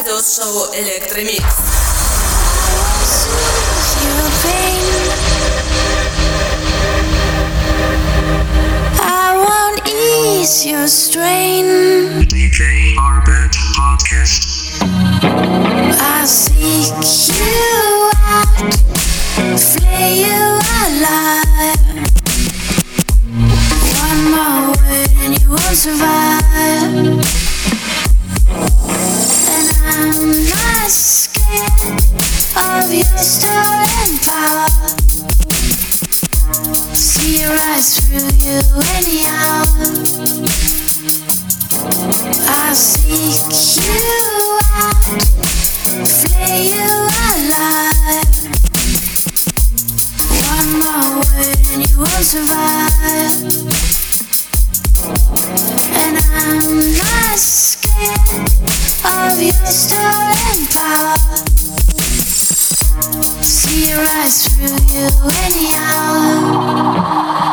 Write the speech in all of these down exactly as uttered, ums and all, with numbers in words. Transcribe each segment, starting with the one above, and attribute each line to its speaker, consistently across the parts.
Speaker 1: Радиошоу Электромикс.
Speaker 2: I won't ease your strain.
Speaker 3: ди джей Arbet Podcast.
Speaker 2: I seek you out, flay you alive. One more word and you won't survive. And I'm not scared of your stolen power. See right through you anyhow. I seek you out, flay you alive. One more word and you won't survive. And I'm not scared of your stolen power. See right through you anyhow.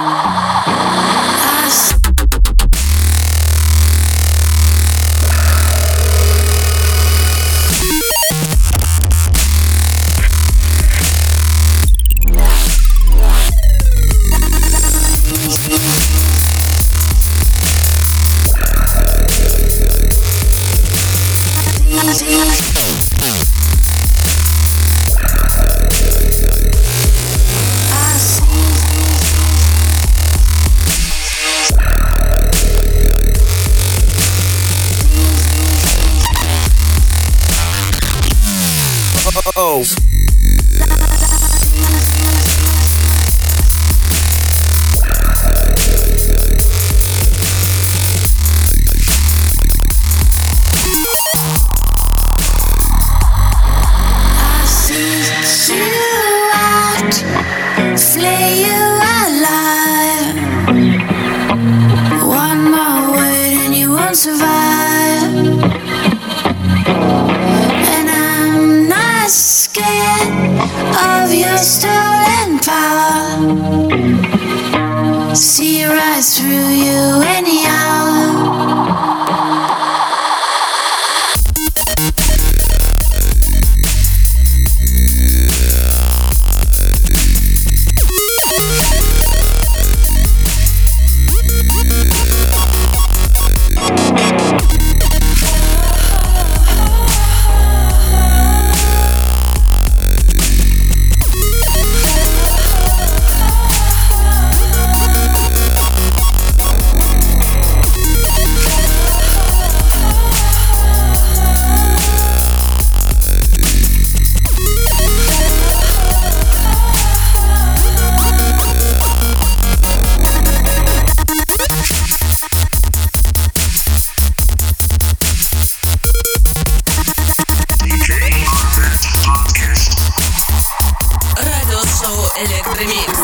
Speaker 4: Oh.
Speaker 2: See right through you anyhow.
Speaker 1: Электромикс.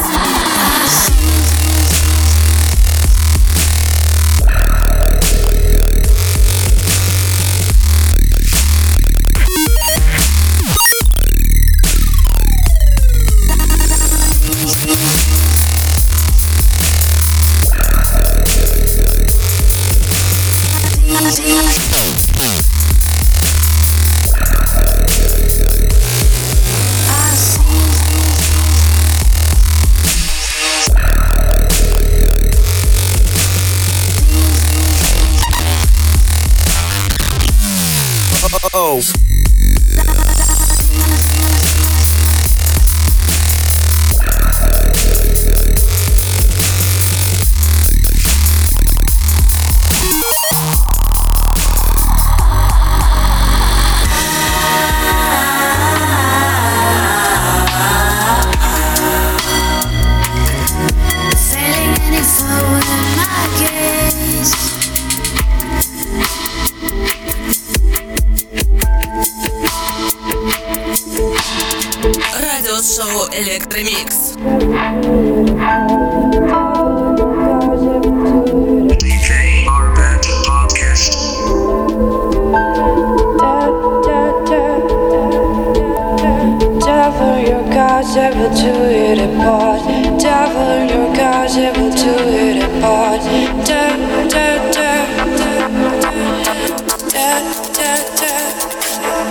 Speaker 4: Oh.
Speaker 2: Failing any forward in my gaze.
Speaker 1: Радиошоу Электромикс.
Speaker 3: ди джей Arbet Podcast.
Speaker 5: Devil, your gods able to hit it apart. Devil, your gods able to hit it apart. Da da da da da da da da.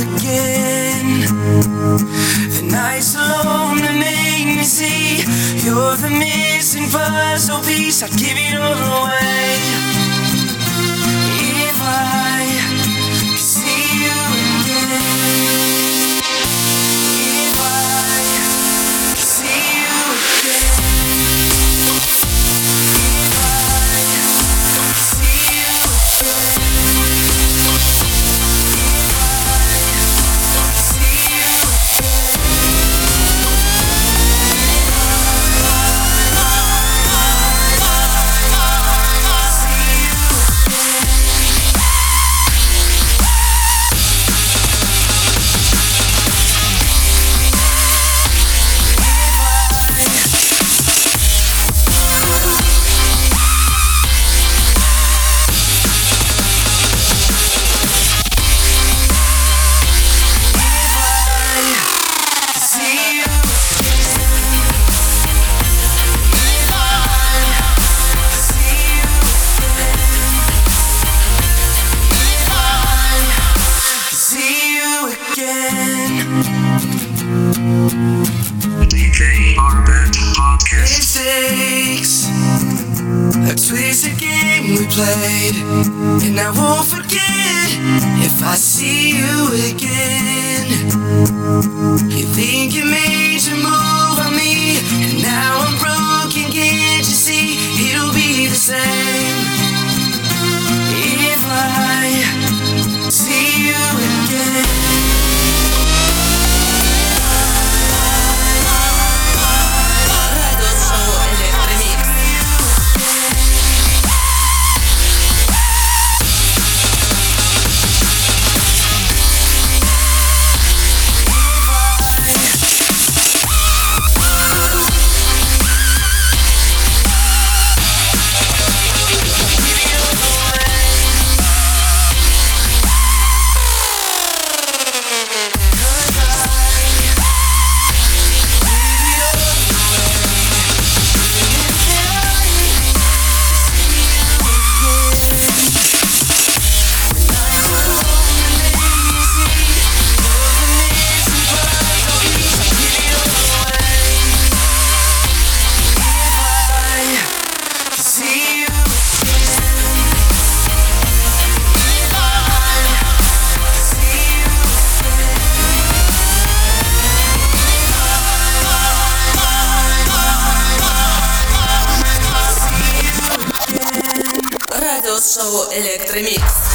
Speaker 4: again. The nights alone that make me see you're the missing puzzle piece. I'd give it all away if I could see you again. If I could see you again. If I could see you again.
Speaker 3: D J Arbet Podcast.
Speaker 4: It takes a twisted game we played, and I won't forget if I see you again. You think you made your move on me, and now I'm broken, can't you see? It'll be the same if I see you again.
Speaker 1: Радиошоу Электромикс.